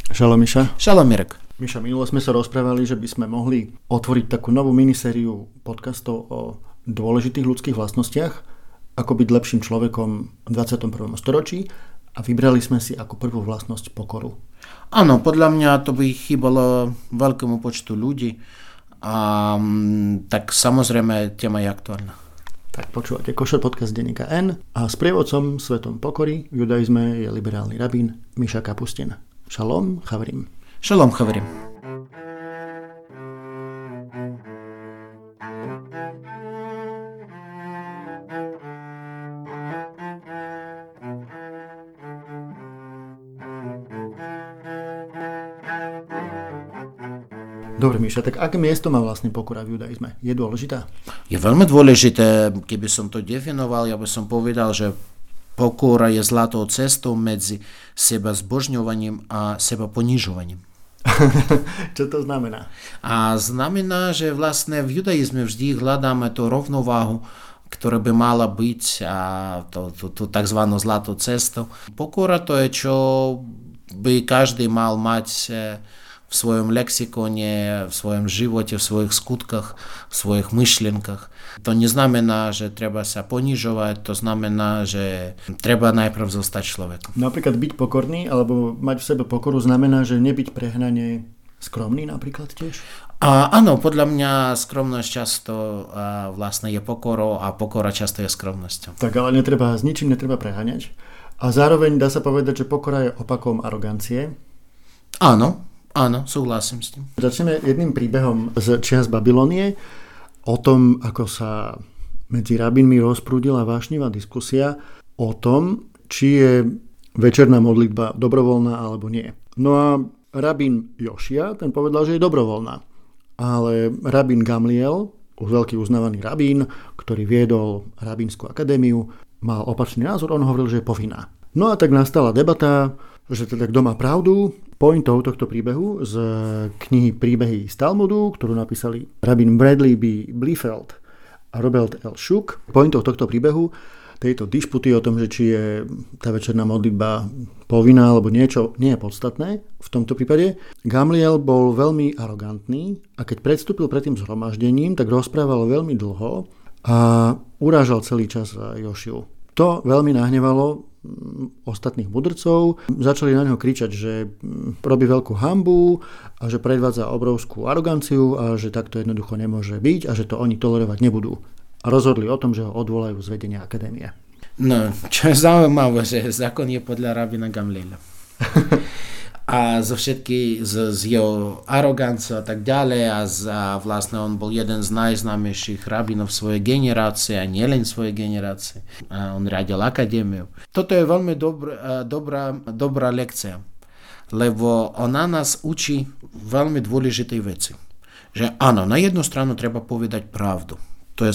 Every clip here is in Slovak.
Šalom Miša. Šalom Mirek. Miša, minulo sme sa rozprávali, že by sme mohli otvoriť takú novú minisériu podcastov o dôležitých ľudských vlastnostiach, ako byť lepším človekom v 21. storočí, a vybrali sme si ako prvú vlastnosť pokoru. Áno, podľa mňa to by chýbalo veľkému počtu ľudí, a tak samozrejme téma je aktuálna. Tak počúvate Košer podcast denníka N a sprievodcom svetom pokory v judaizme je liberálny rabín Miša Kapustin. Šalom, chaverim. Šalom, chaverim. Dobre, Miša, tak aké miesto má vlastne pokora v judaizme? Je dôležitá? Je veľmi dôležité. Keby som to definoval, ja by som povedal, že pokora je zlatou cestou medzi seba zbožňovaním a seba ponižovaním. Čo to znamená? A znamená, že vlastne v judaizme vždy hľadáme tú rovnováhu, ktorá by mala byť, a tú tzv. Zlatú cestu. Pokora to je, čo by každý mal mať v svojom lexikone, v svojom živote, v svojich skutkách, v svojich myšlienkach. To neznamená, že treba sa ponižovať, to znamená, že treba najprv zostať človekom. Napríklad byť pokorný, alebo mať v sebe pokoru znamená, že nebyť prehnane skromný napríklad tiež? Áno, podľa mňa skromnosť často vlastne je pokorou a pokora často je skromnosťou. Tak ale s ničím netreba preháňať. A zároveň dá sa povedať, že pokora je opakom arogancie. Áno, súhlasím s tým. Začneme jedným príbehom z čias Babylonie o tom, ako sa medzi rabínmi rozprúdila vášnivá diskusia o tom, či je večerná modlitba dobrovoľná alebo nie. No a rabín Jošia, ten povedal, že je dobrovoľná. Ale rabín Gamliel, veľký uznávaný rabín, ktorý viedol rabínsku akadémiu, mal opačný názor, on hovoril, že je povinná. No a tak nastala debata, že teda kto má pravdu. Pointou tohto príbehu z knihy Príbehy z Talmudu, ktorú napísali rabín Bradley B. Bliefeld a Robert L. Shook. Pointou tohto príbehu, tejto disputy o tom, že či je tá večerná modlitba povinná alebo niečo, nie je podstatné. V tomto prípade Gamliel bol veľmi arogantný a keď predstúpil pred tým zhromaždením, tak rozprával veľmi dlho a urážal celý čas Jošiu. To veľmi nahnevalo ostatných mudrcov. Začali na neho kričať, že robí veľkú hanbu a že predvádza obrovskú aroganciu a že takto jednoducho nemôže byť a že to oni tolerovať nebudú. A rozhodli o tom, že ho odvolajú z vedenia akadémie. No, čo je zaujímavé, že zákon je podľa rabína Gamliela. A z jeho aroganciou a tak ďalej a vlastne on bol jeden z najznámejších rabínov svojej generácie a nielen svojej generácie. A on riadil akadémiu. Toto je veľmi dobrá lekcia, lebo ona nás učí veľmi dôležitej veci. Že áno, na jednu stranu treba povedať pravdu. To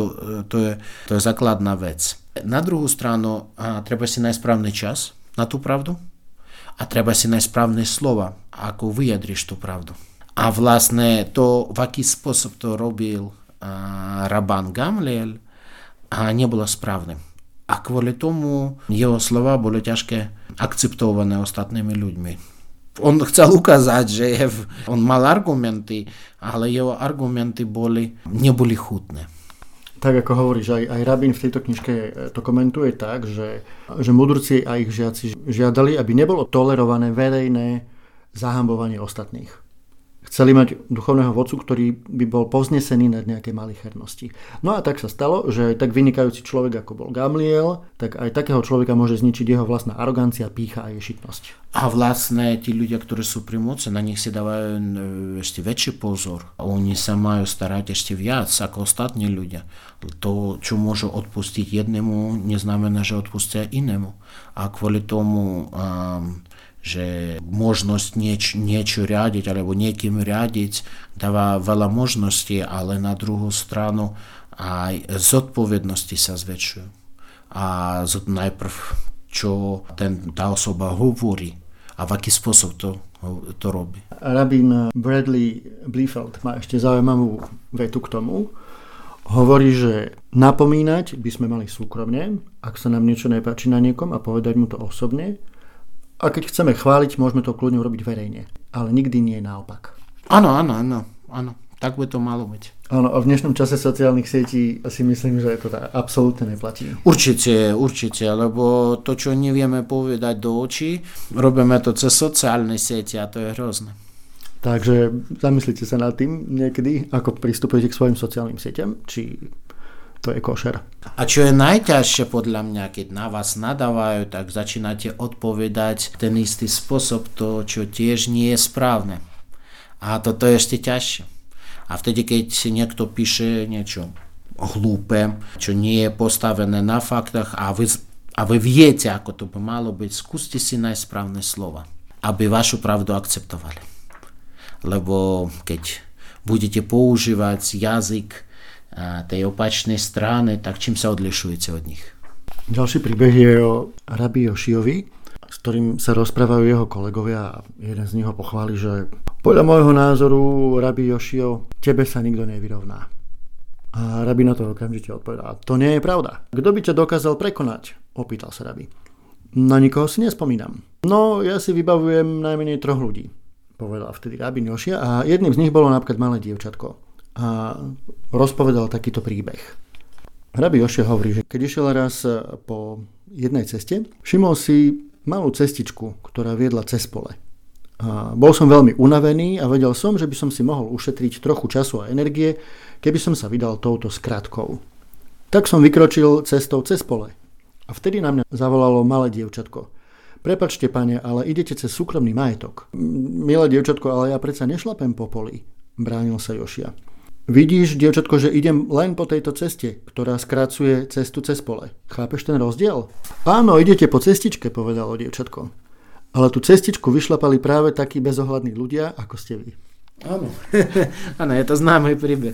je základná vec. Na druhú stranu treba si nájsť správny čas na tú pravdu. A treba si nájsť správne slova, ako vyjadriš tú pravdu. A vlastne to, v aký spôsob to robil rabán Gamliel, nebolo správne. A kvôli tomu jeho slova boli ťažké akceptované ostatnými ľuďmi. On chcel ukázať, že on mal argumenty, ale jeho argumenty neboli chutné. Tak ako hovoríš, aj rabín v tejto knižke to komentuje tak, že mudrci a ich žiaci žiadali, aby nebolo tolerované verejné zahambovanie ostatných. Chceli mať duchovného vodcu, ktorý by bol povznesený nad nejaké malichernosti. No a tak sa stalo, že tak vynikajúci človek, ako bol Gamliel, tak aj takého človeka môže zničiť jeho vlastná arogancia, pýcha a ješitnosť. A vlastne tí ľudia, ktorí sú pri moci, na nich si dávajú ešte väčší pozor. Oni sa majú starať ešte viac ako ostatní ľudia. To, čo môžu odpustiť jednému, neznamená, že odpustia inému. A kvôli tomu že možnosť niečo riadiť alebo niekým riadiť dáva veľa možností, ale na druhú stranu aj zodpovednosti sa zväčšujú. A najprv, čo tá osoba hovorí a v aký spôsob to robí. Rabín Bradley Bliefeld má ešte zaujímavú vetu k tomu. Hovorí, že napomínať by sme mali súkromne, ak sa nám niečo nepáči na niekom a povedať mu to osobne, A keď chceme chváliť, môžeme to kľudne urobiť verejne. Ale nikdy nie naopak. Áno. Tak by to malo byť. Áno, a v dnešnom čase sociálnych sietí si myslím, že to absolútne neplatí. Určite, lebo to, čo nevieme povedať do očí, robíme to cez sociálne siete a to je hrozné. Takže zamyslite sa nad tým niekedy, ako pristupujete k svojim sociálnym sieťam, či to je košer. A čo je najťažšie podľa mňa, keď na vás nadávajú, tak začínate odpovedať ten istý spôsob, to, čo tiež nie je správne. A toto je ešte ťažšie. A vtedy, keď niekto píše niečo hlúpe, čo nie je postavené na faktách a vy viete, ako to by malo byť, skúste si nájsť správne slova, aby vašu pravdu akceptovali. Lebo keď budete používať jazyk tej opačnej strany, tak čím sa odlišujete od nich? Ďalší príbeh je o Rabbi Jošiovi, s ktorým sa rozprávajú jeho kolegovia a jeden z nich ho pochváli, že podľa môjho názoru, Rabbi Jošio, tebe sa nikto nevyrovná. A Rabbi na to okamžite odpovedá, to nie je pravda. Kto by ťa dokázal prekonať? Opýtal sa Rabbi. Na nikoho si nespomínam. No, ja si vybavujem najmenej 3 ľudí, povedal vtedy Rabbi Jošia a jedným z nich bolo napríklad malé dievčatko. A rozpovedal takýto príbeh. Rabbi Jošia hovorí, že keď išiel raz po jednej ceste, všimol si malú cestičku, ktorá viedla cez pole. A bol som veľmi unavený a vedel som, že by som si mohol ušetriť trochu času a energie, keby som sa vydal touto skratkou. Tak som vykročil cestou cez pole. A vtedy na mňa zavolalo malé dievčatko. Prepáčte, pane, ale idete cez súkromný majetok. Milé dievčatko, ale ja predsa nešlapem po poli, bránil sa Jošia. Vidíš, dievčatko, že idem len po tejto ceste, ktorá skracuje cestu cez pole. Chápeš ten rozdiel? Áno, idete po cestičke, povedalo dievčatko. Ale tú cestičku vyšlapali práve takí bezohľadní ľudia, ako ste vy. Áno, je to známy príbeh.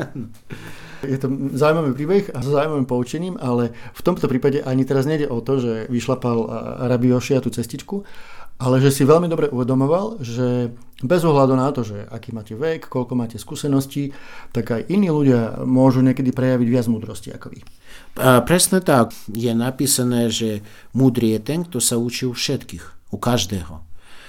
Je to zaujímavý príbeh a so zaujímavým poučením, ale v tomto prípade ani teraz nejde o to, že vyšlapal Rabbi Jošia tú cestičku, ale že si veľmi dobre uvedomoval, že bez ohľadu na to, že aký máte vek, koľko máte skúseností, tak aj iní ľudia môžu niekedy prejaviť viac múdrosti ako vy. Presne tak. Je napísané, že múdry je ten, kto sa učí u všetkých. U každého.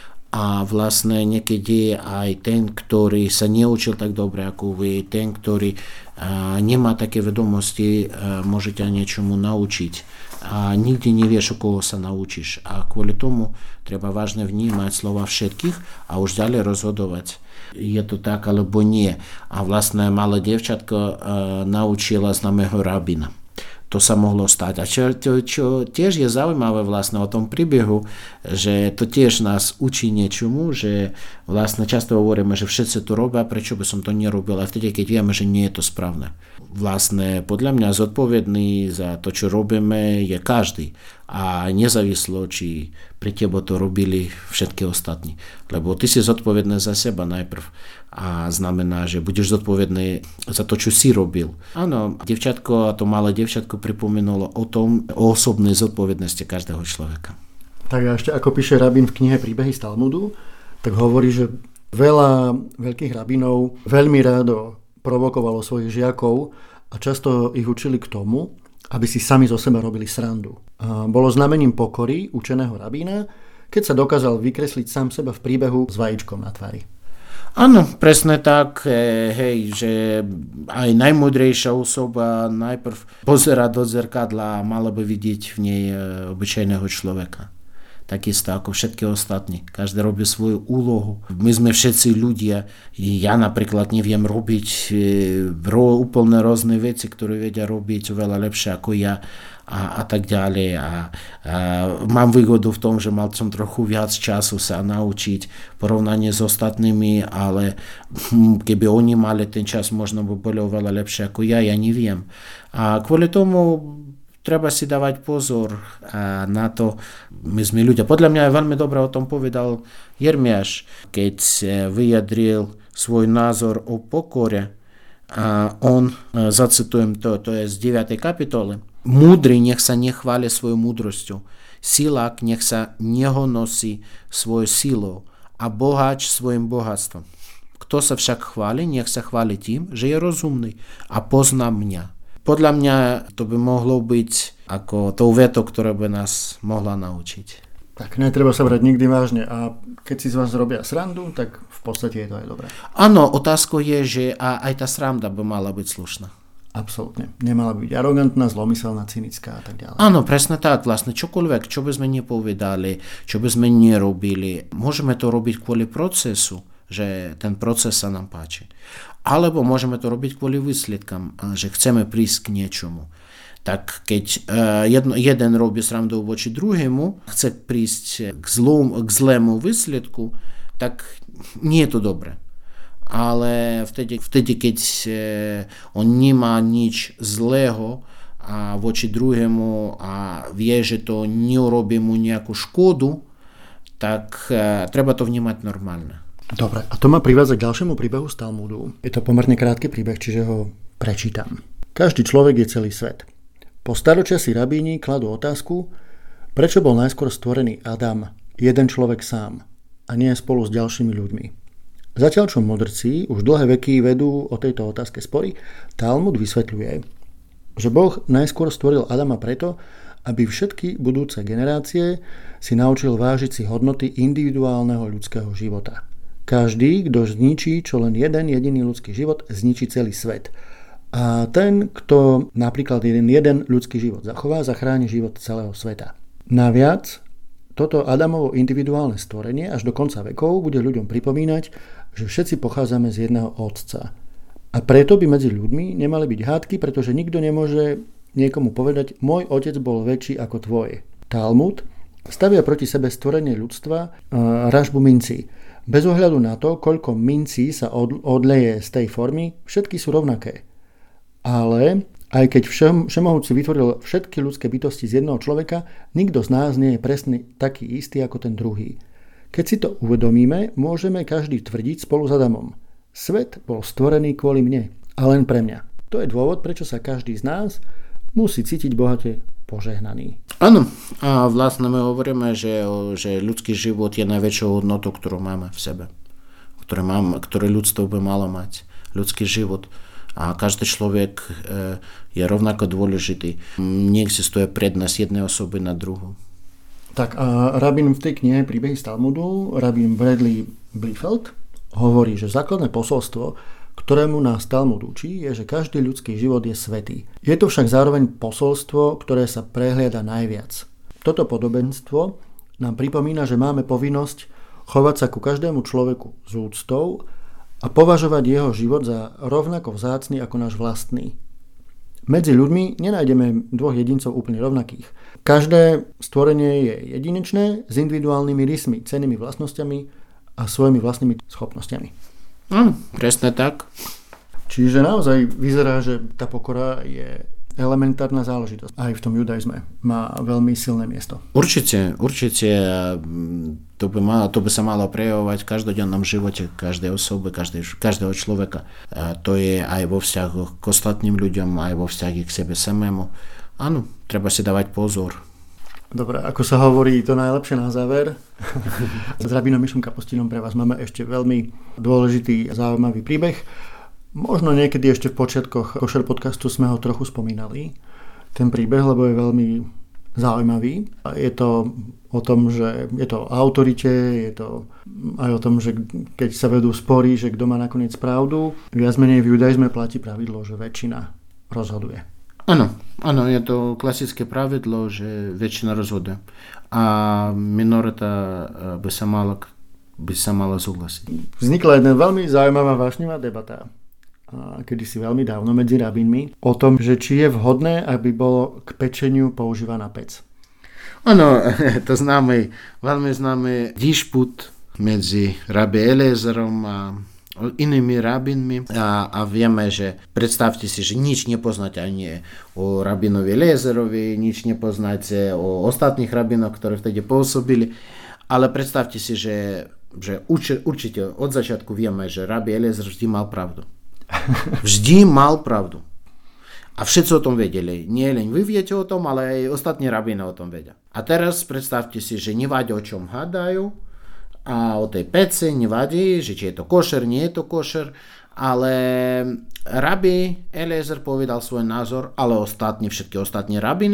A vlastne niekedy aj ten, ktorý sa neučil tak dobre ako vy, ten, ktorý nemá také vedomosti, môže ťa niečomu naučiť. A nikdy nevieš, u koho sa naučíš. A kvôli tomu treba vážne vnímať slova všetkých a už ďalej rozhodovať. Je to tak alebo nie. A vlastne malé dievčatko naučila známeho rabína. To sa mohlo stať. A čo tiež je zaujímavé vlastne o tom príbehu, že to tiež nás učí niečomu, že vlastne často hovoríme, že všetci to robia, prečo by som to nerobil, aj vtedy, keď vieme, že nie je to správne. Vlastne podľa mňa zodpovedný za to, čo robíme, je každý. A nezávislo, či pri tebe to robili všetky ostatní. Lebo ty si zodpovedný za seba najprv. A znamená, že budeš zodpovedný za to, čo si robil. Áno, dievčatko a to malé dievčatko pripomenulo o osobnej zodpovednosti každého človeka. Tak a ešte ako píše rabín v knihe Príbehy z Talmudu, tak hovorí, že veľa veľkých rabínov veľmi rádo provokovalo svojich žiakov a často ich učili k tomu, aby si sami zo seba robili srandu. A bolo znamením pokory učeného rabína, keď sa dokázal vykresliť sám seba v príbehu s vajíčkom na tvári. Áno, presne tak, že aj najmudrejšia osoba najprv pozerá do zrkadla a mala by vidieť v nej obyčajného človeka. Takisto ako všetky ostatní. Každý robí svoju úlohu. My sme všetci ľudia. Ja napríklad neviem robiť úplne rôzne veci, ktoré vedia robiť oveľa lepšie ako ja a tak ďalej. A mám výhodu v tom, že mal som trochu viac času sa naučiť porovnanie s ostatnými, ale keby oni mali ten čas, možno by boli oveľa lepšie ako ja neviem. A kvôli tomu treba si dávať pozor na to. My sme ľudia. Podľa mňa je veľmi dobre o tom povedal Jeremiáš, keď vyjadril svoj názor o pokore. A on, zacitujem to je z 9. kapitoly. Múdry nech sa nechváli svojou múdrosťou. Silák nech sa nehonosí svojou silou a boháč svojim bohatstvom. Kto sa však chváli, nech sa chváli tým, že je rozumný a pozná mňa. Podľa mňa to by mohlo byť ako tou vetou, ktorá by nás mohla naučiť. Tak netreba sa brať nikdy vážne a keď si z vás robia srandu, tak v podstate je to aj dobré. Áno, otázkou je, že aj tá sranda by mala byť slušná. Absolútne. Nemala byť arogantná, zlomyselná, cynická a tak ďalej. Áno, presne tak. Vlastne čokoľvek, čo by sme nepovedali, čo by sme nerobili, môžeme to robiť kvôli procesu, že ten proces sa nám páči. Alebo môžeme to robiť kvôli výsledkám, že chceme prísť k niečomu. Tak keď jeden robí srandu voči druhému, chce prísť k zlému výsledku, tak nie je to dobré. Ale vtedy, keď on nemá nič zlého voči druhému a vie, že to neurobí mu nejakú škodu, tak treba to vnímať normálne. Dobre, a to ma privádza k ďalšiemu príbehu z Talmudu. Je to pomerne krátky príbeh, čiže ho prečítam. Každý človek je celý svet. Po staročia si rabíni kladú otázku, prečo bol najskôr stvorený Adam, jeden človek sám, a nie spolu s ďalšími ľuďmi. Zatiaľ čo mudrci už dlhé veky vedú o tejto otázke spory, Talmud vysvetľuje, že Boh najskôr stvoril Adama preto, aby všetky budúce generácie si naučil vážiť si hodnoty individuálneho ľudského života. Každý, kto zničí čo len jeden jediný ľudský život, zničí celý svet. A ten, kto napríklad jeden ľudský život zachová, zachráni život celého sveta. Naviac, toto Adamovo individuálne stvorenie až do konca vekov bude ľuďom pripomínať, že všetci pochádzame z jedného otca. A preto by medzi ľuďmi nemali byť hádky, pretože nikto nemôže niekomu povedať, môj otec bol väčší ako tvoj. Talmud stavia proti sebe stvorenie ľudstva ražbu mincí. Bez ohľadu na to, koľko mincí sa odleje z tej formy, všetky sú rovnaké. Ale aj keď Všemohúci vytvoril všetky ľudské bytosti z jedného človeka, nikto z nás nie je presne taký istý ako ten druhý. Keď si to uvedomíme, môžeme každý tvrdiť spolu s Adamom. Svet bol stvorený kvôli mne a len pre mňa. To je dôvod, prečo sa každý z nás musí cítiť bohate požehnaný. Áno, a vlastne my hovoríme, že ľudský život je najväčšou hodnotou, ktorú máme v sebe. Ktoré ľudstvo by malo mať. Ľudský život. A každý človek je rovnako dôležitý. Neexistuje prednosť jednej osoby na druhú. Tak a rabín v tej knihe Príbehy z Talmudu, rabín Bradley Bliefeld, hovorí, že základné posolstvo, ktorému nás Talmud učí, je, že každý ľudský život je svätý. Je to však zároveň posolstvo, ktoré sa prehliada najviac. Toto podobenstvo nám pripomína, že máme povinnosť chovať sa ku každému človeku s úctou a považovať jeho život za rovnako vzácny ako náš vlastný. Medzi ľuďmi nenájdeme dvoch jedincov úplne rovnakých. Každé stvorenie je jedinečné, s individuálnymi rysmi, cennými vlastnosťami a svojimi vlastnými schopnosťami. Presne tak. Čiže naozaj vyzerá, že tá pokora je elementárna záležitosť. Aj v tom judaizme má veľmi silné miesto. Určite. To by sa malo prejavovať v každodennom živote každej osoby, každého človeka. To je aj vo vzťahoch k ostatným ľuďom, aj vo vzťahu k sebe samému. Áno, treba si dávať pozor. Dobre, ako sa hovorí, to najlepšie na záver. S rabínom Mišom Kapustinom pre vás máme ešte veľmi dôležitý a zaujímavý príbeh. Možno niekedy ešte v počiatkoch Košer podcastu sme ho trochu spomínali, ten príbeh, lebo je veľmi zaujímavý. Je to o tom, že je to o autorite, je to aj o tom, že keď sa vedú spory, že kto má nakoniec pravdu. Viac menej v judaizme platí pravidlo, že väčšina rozhoduje. Áno, je to klasické pravidlo, že väčšina rozhoduje. A minorita by sa mala súhlasiť. Vznikla jedna veľmi zaujímavá vášnivá debata kedysi veľmi dávno medzi rabínmi o tom, že či je vhodné, aby bolo k pečeniu používaná pec. Áno, to veľmi známy dišput medzi rabí Eliezerom a inými rabínmi a vieme, že predstavte si, že nič nepoznáte ani o rabínovi Eliezerovi, nič nepoznáte o ostatných rabínoch, ktorí vtedy pôsobili, ale predstavte si, že určite od začiatku vieme, že rabí Eliezer vždy mal pravdu. Vždy mal pravdu. A všetci o tom vedeli. Nie len vy viete o tom, ale aj ostatní rabíni o tom vedia. A teraz predstavte si, že nevadí o čom hádajú a o tej pece nevadí, že či je to košer, nie je to košer, ale Rabbi Eliezer povedal svoj názor, ale všetky ostatní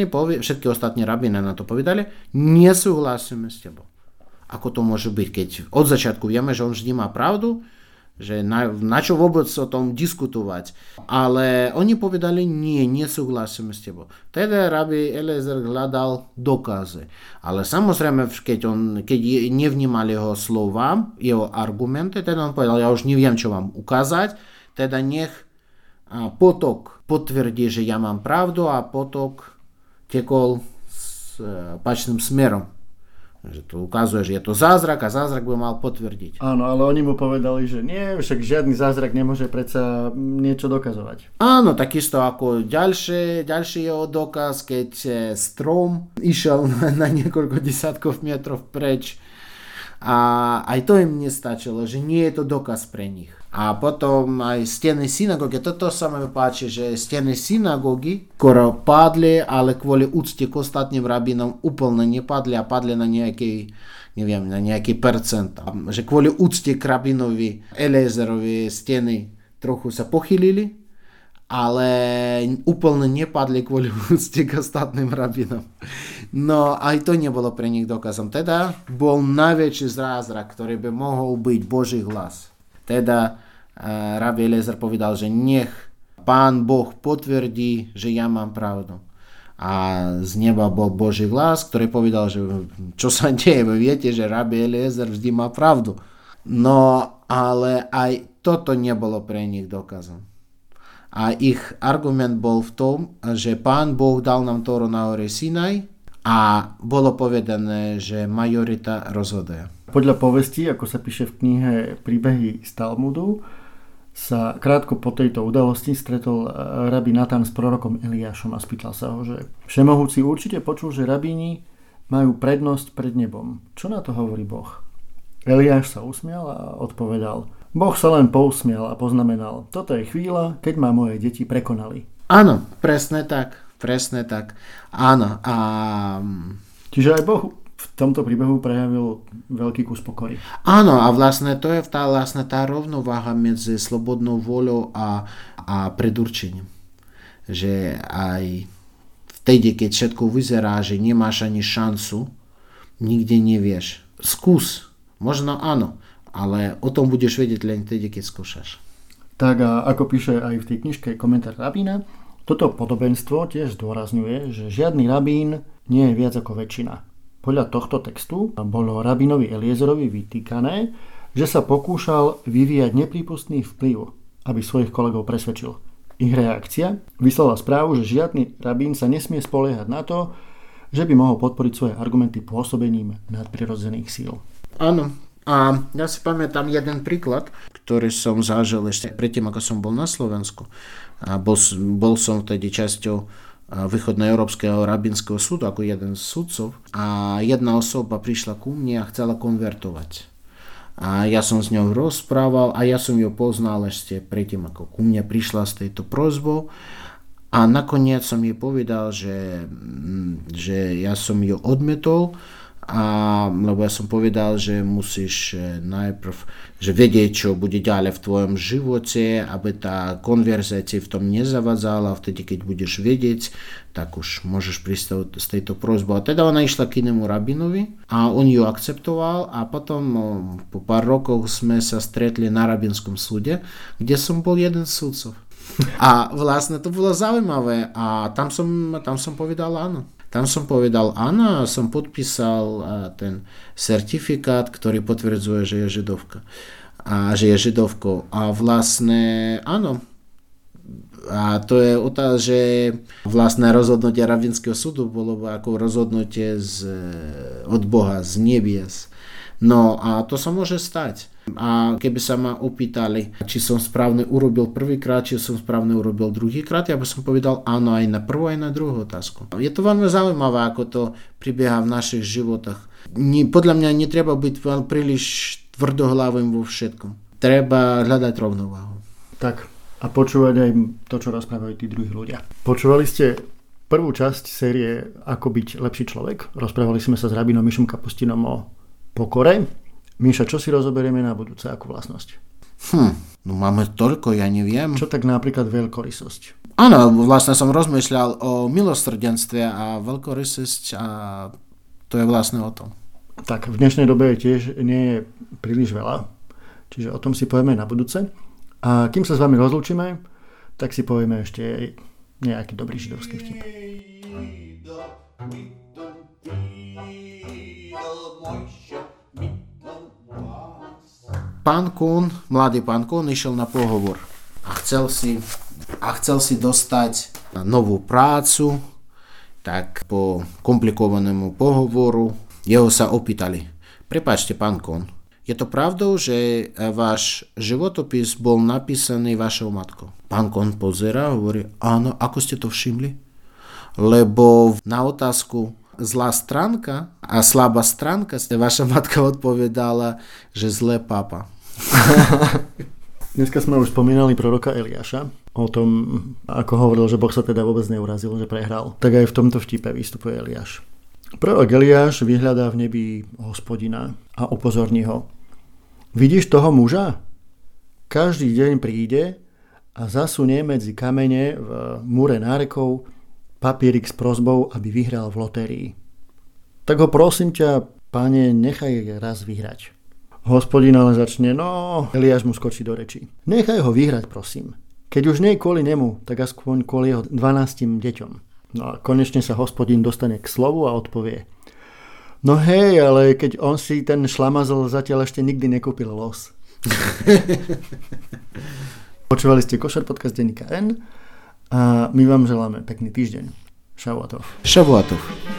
rabíny na to povedali, nesúhlasíme s tebou. Ako to môže byť, keď od začiatku vieme, že on vždy má pravdu, že na čo vôbec o tom diskutovať. Ale oni povedali, nesúhlasíme s tebou. Teda Rabbi Eliezer hľadal dokazy. Ale samozrejme, keď nevnímal jeho slova, jeho argumenty, teda on povedal, ja už neviem, čo vám ukázať, teda nech potok potvrdí, že ja mám pravdu a potok tekol s opačným smerom. Že to ukazuje, že je to zázrak a zázrak by mal potvrdiť. Áno, ale oni mu povedali, že nie, však žiadny zázrak nemôže predsa niečo dokazovať. Áno, takisto ako ďalší jeho dokaz, keď strom išiel na niekoľko desiatkov metrov preč. A aj to im nestačilo, že nie je to dokaz pre nich. A potom aj steny synagógy, toto sa mi páči, že steny synagógy skoro padli, ale kvôli úcte k ostatným rabínom úplne nepadli a padli na nejaký percent. Že kvôli úcte k rabínovi Eliezerovi steny trochu sa pochylili, ale úplne nepadli kvôli úcte k ostatným rabínom. No aj to nebolo pre nich dokazom. Teda bol najväčší zázrak, ktorý by mohol byť Boží hlas. Teda Rabbi Eliezer povedal, že nech Pán Boh potvrdí, že ja mám pravdu. A z neba bol Boží hlas, ktorý povedal, že čo sa deje, vy viete, že Rabbi Eliezer vždy má pravdu. No ale aj toto nebolo pre nich dokazom. A ich argument bol v tom, že Pán Boh dal nám Tóru na hore Sinaj a bolo povedané, že majorita rozhoduje. Podľa povesti, ako sa píše v knihe Príbehy z Talmudu, sa krátko po tejto udalosti stretol rabí Natan s prorokom Eliášom a spýtal sa ho, že Všemohúci určite počul, že rabíni majú prednosť pred nebom. Čo na to hovorí Boh? Eliáš sa usmial a odpovedal, Boh sa len pousmial a poznamenal, toto je chvíľa, keď ma moje deti prekonali. Áno, presne tak. Áno. Čiže aj Boh v tomto príbehu prejavil veľký kus pokory. Áno, a vlastne to je tá rovnováha medzi slobodnou voľou a predurčením. Že aj vtedy, keď všetko vyzerá, že nemáš ani šancu, nikde nevieš. Skús, možno áno, ale o tom budeš vedieť len vtedy, keď skúšaš. Tak a ako píše aj v tej knižke komentár rabína, toto podobenstvo tiež zdôrazňuje, že žiadny rabín nie je viac ako väčšina. Podľa tohto textu bolo rabínovi Eliezerovi vytýkané, že sa pokúšal vyvíjať neprípustný vplyv, aby svojich kolegov presvedčil. Ich reakcia vyslala správu, že žiadny rabín sa nesmie spoliehať na to, že by mohol podporiť svoje argumenty pôsobením nadprirodzených síl. Áno. A ja si pamätám jeden príklad, ktorý som zažil ešte predtým, ako som bol na Slovensku. A bol som vtedy časťou Východnoeurópskeho rabínskeho súdu ako jeden z sudcov a jedna osoba prišla ku mne a chcela konvertovať. A ja som s ňou rozprával a ja som ju poznal ešte predtým, ako ku mne prišla s tejto prosbou a nakoniec som jej povedal, že ja som ju odmietol, lebo ja som povedal, že musíš najprv vedieť, čo bude ďalej v tvojom živote, aby tá konverzia ti v tom nezavadzala, vtedy keď budeš vedieť, tak už môžeš prísť s tejto prosbou. A teda ona išla k inému rabinovi a on ju akceptoval a potom po pár rokoch sme sa stretli na rabínskom súde, kde som bol jeden z sudcov. A vlastne to bolo zaujímavé a tam som povedal áno. Tam som povedal áno a som podpísal ten certifikát, ktorý potvrdzuje, že je židovka. Že je židovkou. A vlastne áno. A to je otázka, že vlastne rozhodnutie rabínskeho súdu bolo ako rozhodnutie od Boha, z nebies. No a to sa môže stať. A keby sa ma opýtali, či som správne urobil prvýkrát, či som správne urobil druhýkrát, ja by som povedal áno aj na prvú, aj na druhú otázku. Je to veľmi zaujímavé, ako to prebieha v našich životoch. Podľa mňa netreba byť príliš tvrdohlavým vo všetkom. Treba hľadať rovnováhu. Tak, a počúvať aj to, čo rozprávajú tí druhí ľudia. Počúvali ste prvú časť série Ako byť lepší človek. Rozprávali sme sa s rabínom Mišom Kapustinom o pokore. Míša, čo si rozoberieme na budúce ako vlastnosť? No máme toľko, ja neviem. Čo tak napríklad veľkorysosť? Áno, vlastne som rozmýšľal o milosrdenstve a veľkorysosť a to je vlastne o tom. Tak v dnešnej dobe tiež nie je príliš veľa, čiže o tom si povieme na budúce. A kým sa s vami rozlúčime, tak si povieme ešte nejaký dobrý židovský vtip. Mladý pán Kun išiel na pohovor a chcel si dostať novú prácu, tak po komplikovanému pohovoru jeho sa opýtali: prepáčte, pán Kun, je to pravdou, že váš životopis bol napísaný vašou matkou? Pán Kun pozerá a hovorí: áno, ako ste to všimli? Lebo na otázku zlá stránka a slabá stránka vaša matka odpovedala, že zlé papa. Dneska sme už spomínali proroka Eliáša o tom, ako hovoril, že Boh sa teda vôbec neurazil, že prehral. Tak aj v tomto vtipe vystupuje Eliáš. Prorok Eliáš vyhľadá v nebi Hospodina a upozorní ho: vidíš toho muža? Každý deň príde a zasunie medzi kamene v múre nárekov papierik s prosbou, aby vyhral v lotérii. Tak ho prosím ťa, Pane, nechaj raz vyhrať. Hospodin ale začne: no, Eliáš mu skočí do rečí: nechaj ho vyhrať, prosím. Keď už nie kvôli nemu, tak aspoň kvôli jeho 12 deťom. No a konečne sa Hospodin dostane k slovu a odpovie: no hej, ale keď on si ten šlamazl zatiaľ ešte nikdy nekúpil los. Počúvali ste Košer podcast denníka N a my vám želáme pekný týždeň. Šavuatov.